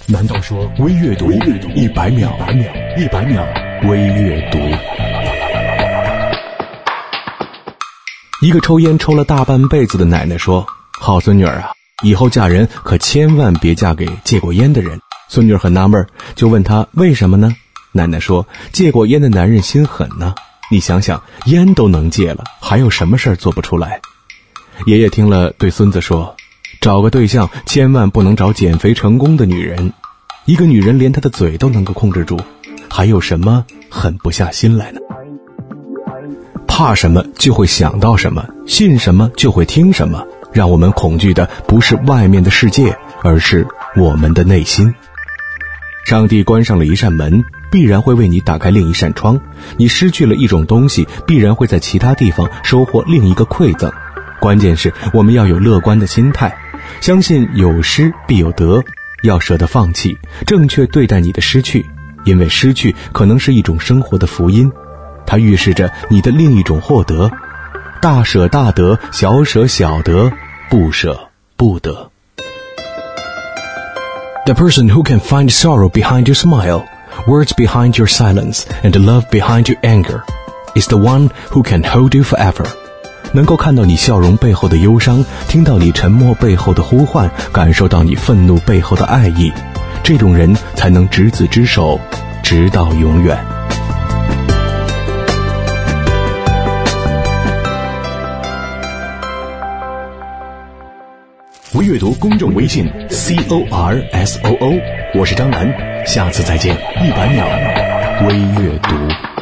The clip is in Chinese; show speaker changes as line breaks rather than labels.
难道说微阅读100秒100秒微阅读？一个抽烟抽了大半辈子的奶奶说：好孙女儿啊，以后嫁人可千万别嫁给戒过烟的人。孙女儿很纳闷，就问她为什么呢？奶奶说：戒过烟的男人心狠呢，你想想，烟都能戒了，还有什么事儿做不出来？爷爷听了对孙子说：找个对象千万不能找减肥成功的女人，一个女人连她的嘴都能够控制住，还有什么狠不下心来呢？怕什么就会想到什么，信什么就会听什么，让我们恐惧的不是外面的世界，而是我们的内心。上帝关上了一扇门，必然会为你打开另一扇窗，你失去了一种东西，必然会在其他地方收获另一个馈赠。关键是我们要有乐观的心态，相信有失必有得，要舍得放弃，正确对待你的失去，因为失去可能是一种生活的福音，它预示着你的另一种获得。大舍大得，小舍小得，不舍不得。The person who can find sorrow behind your smile, words behind your silence, and love behind your anger, is the one who can hold you forever. 能够看到你笑容背后的忧伤，听到你沉默背后的呼唤，感受到你愤怒背后的爱意，这种人才能执子之手，直到永远。微阅读公众微信 CORSOO， 我是张楠，下次再见。100秒微阅读。